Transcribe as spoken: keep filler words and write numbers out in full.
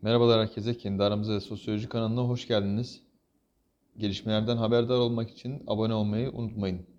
Merhabalar herkese. Kendi aramızda sosyoloji kanalına hoş geldiniz. Gelişmelerden haberdar olmak için abone olmayı unutmayın.